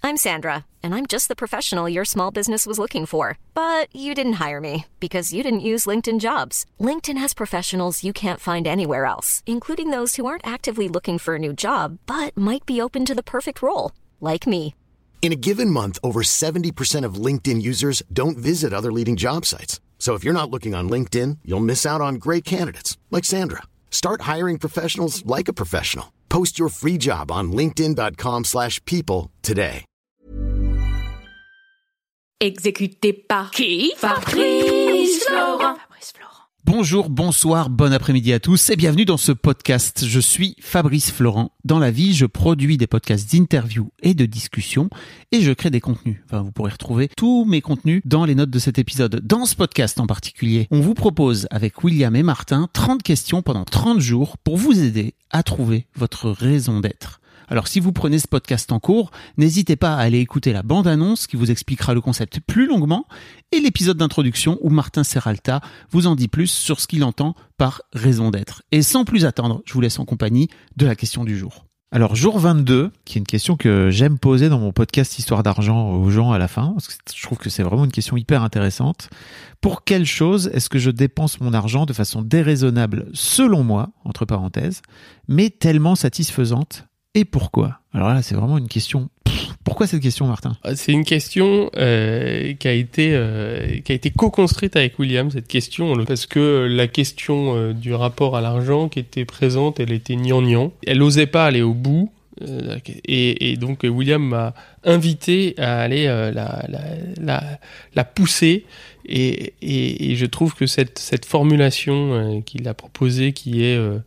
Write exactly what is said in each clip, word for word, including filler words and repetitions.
I'm Sandra, and I'm just the professional your small business was looking for. But you didn't hire me because you didn't use LinkedIn Jobs. LinkedIn has professionals you can't find anywhere else, including those who aren't actively looking for a new job, but might be open to the perfect role, like me. In a given month, over seventy percent of LinkedIn users don't visit other leading job sites. So if you're not looking on LinkedIn, you'll miss out on great candidates like Sandra. Start hiring professionals like a professional. Post your free job on linkedin.com slash people today. Exécuté par qui? Fabrice Florent. Fabrice Florent. Bonjour, bonsoir, bon après-midi à tous et bienvenue dans ce podcast. Je suis Fabrice Florent. Dans la vie, je produis des podcasts d'interviews et de discussions et je crée des contenus. Enfin, vous pourrez retrouver tous mes contenus dans les notes de cet épisode. Dans ce podcast en particulier, on vous propose avec William et Martin trente questions pendant trente jours pour vous aider à trouver votre raison d'être. Alors si vous prenez ce podcast en cours, n'hésitez pas à aller écouter la bande-annonce qui vous expliquera le concept plus longuement et l'épisode d'introduction où Martin Serralta vous en dit plus sur ce qu'il entend par raison d'être. Et sans plus attendre, je vous laisse en compagnie de la question du jour. Alors jour vingt-deux, qui est une question que j'aime poser dans mon podcast Histoire d'argent aux gens à la fin, parce que je trouve que c'est vraiment une question hyper intéressante. Pour quelle chose est-ce que je dépense mon argent de façon déraisonnable selon moi, entre parenthèses, mais tellement satisfaisante? Et pourquoi? Alors là, c'est vraiment une question. Pff, pourquoi cette question, Martin? C'est une question euh, qui a été euh, qui a été co-construite avec William, cette question, parce que la question euh, du rapport à l'argent qui était présente, elle était gnangnan. Elle n'osait pas aller au bout, euh, et, et donc William m'a invité à aller euh, la, la, la, la pousser. Et, et, et je trouve que cette cette formulation euh, qu'il a proposée, qui est euh,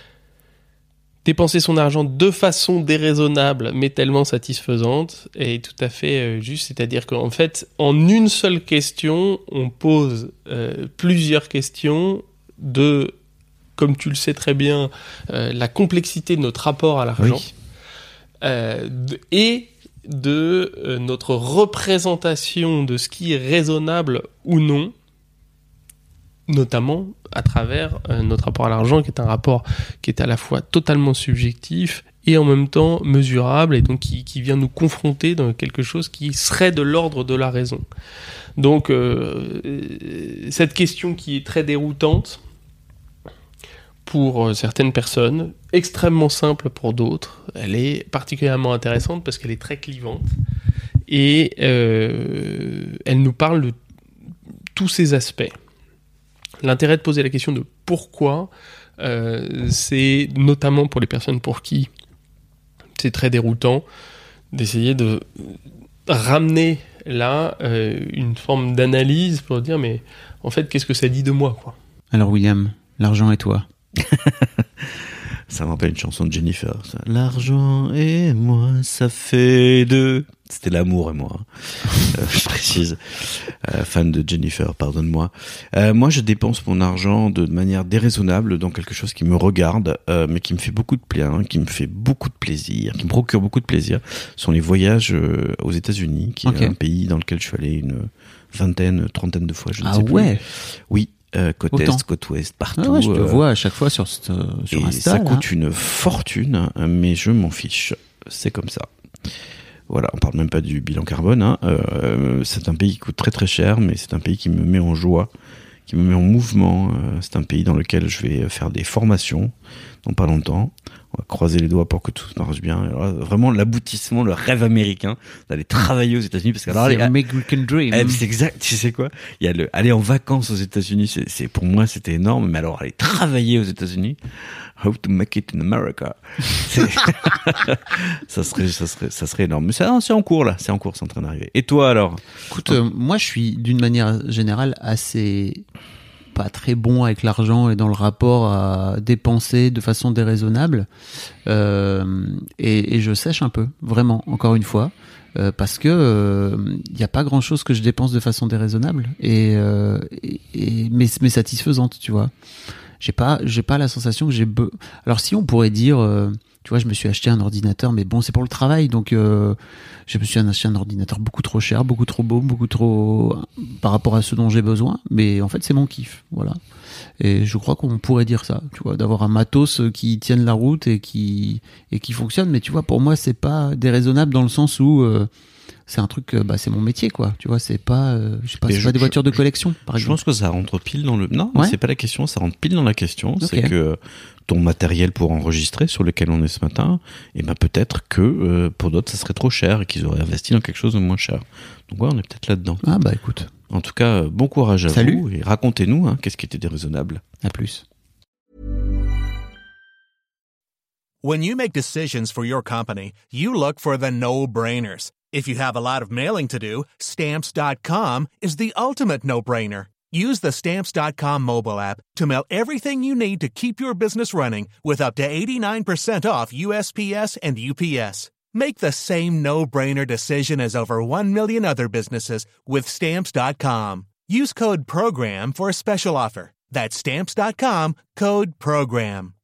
dépenser son argent de façon déraisonnable mais tellement satisfaisante est tout à fait euh, juste, c'est-à-dire qu'en fait, en une seule question, on pose euh, plusieurs questions de, comme tu le sais très bien, euh, la complexité de notre rapport à l'argent, oui. euh, de, et de euh, notre représentation de ce qui est raisonnable ou non, notamment à travers euh, notre rapport à l'argent, qui est un rapport qui est à la fois totalement subjectif et en même temps mesurable, et donc qui, qui vient nous confronter dans quelque chose qui serait de l'ordre de la raison. Donc euh, cette question qui est très déroutante pour certaines personnes, extrêmement simple pour d'autres, elle est particulièrement intéressante parce qu'elle est très clivante et euh, elle nous parle de tous ces aspects. L'intérêt de poser la question de pourquoi, euh, c'est notamment pour les personnes pour qui c'est très déroutant, d'essayer de ramener là euh, une forme d'analyse pour dire mais en fait qu'est-ce que ça dit de moi, quoi. Alors William, l'argent et toi? Ça me rappelle une chanson de Jennifer, ça. L'argent et moi, ça fait deux. C'était l'amour et moi. euh, je précise. Euh, fan de Jennifer, pardonne-moi. Euh, moi, je dépense mon argent de manière déraisonnable dans quelque chose qui me regarde, euh, mais qui me fait beaucoup de bien, qui me fait beaucoup de plaisir, qui me procure beaucoup de plaisir. Ce sont les voyages euh, aux États-Unis, qui okay. est un pays dans lequel je suis allé une vingtaine, trentaine de fois, je ne ah sais plus. Ah ouais. Oui. Euh, côte Autant. est, côte ouest, partout. Ah ouais, je te euh, vois à chaque fois sur, sur et Insta. Ça là. coûte une fortune, mais je m'en fiche. C'est comme ça. Voilà, on parle même pas du bilan carbone. Hein. Euh, c'est un pays qui coûte très très cher, mais c'est un pays qui me met en joie, qui me met en mouvement. Euh, c'est un pays dans lequel je vais faire des formations dans pas longtemps. On va croiser les doigts pour que tout marche bien. Alors, vraiment l'aboutissement, le rêve américain d'aller travailler aux États-Unis, parce que alors c'est les American Dream. Eh, c'est exact. Tu sais quoi? Il y a le aller en vacances aux États-Unis. C'est, c'est pour moi c'était énorme. Mais alors aller travailler aux États-Unis, how to make it in America. C'est ça serait, ça serait, ça serait énorme. Mais ça, c'est en cours là. C'est en cours, c'est en train d'arriver. Et toi alors? Écoute, euh, moi je suis d'une manière générale assez pas très bon avec l'argent et dans le rapport à dépenser de façon déraisonnable, euh, et, et je sèche un peu, vraiment, encore une fois, euh, parce que il euh, y a pas grand chose que je dépense de façon déraisonnable et, euh, et, et mais, mais satisfaisante, tu vois. j'ai pas, j'ai pas la sensation que j'ai. Be... Alors si on pourrait dire, euh, tu vois, je me suis acheté un ordinateur, mais bon, c'est pour le travail, donc euh, je me suis acheté un ordinateur beaucoup trop cher, beaucoup trop beau, beaucoup trop par rapport à ce dont j'ai besoin. Mais en fait, c'est mon kiff, voilà. Et je crois qu'on pourrait dire ça, tu vois, d'avoir un matos qui tienne la route et qui et qui fonctionne. Mais tu vois, pour moi, c'est pas déraisonnable dans le sens où euh, c'est un truc, bah c'est mon métier, quoi. Tu vois, c'est pas, euh, je sais pas, c'est je, pas des je, voitures de collection, par je exemple. Je pense que ça rentre pile dans le. Non, ouais. c'est pas la question. Ça rentre pile dans la question. Okay. C'est que ton matériel pour enregistrer, sur lequel on est ce matin, et ben peut-être que euh, pour d'autres, ça serait trop cher et qu'ils auraient investi dans quelque chose de moins cher. Donc ouais, on est peut-être là-dedans. Ah bah écoute. En tout cas, bon courage à Salut. vous et racontez-nous hein, qu'est-ce qui était déraisonnable. À plus. When you make decisions for your company, you look for the no-brainers. If you have a lot of mailing to do, Stamps dot com is the ultimate no-brainer. Use the Stamps dot com mobile app to mail everything you need to keep your business running with up to eighty-nine percent off U S P S and U P S. Make the same no-brainer decision as over one million other businesses with Stamps dot com. Use code PROGRAM for a special offer. That's Stamps dot com, code PROGRAM.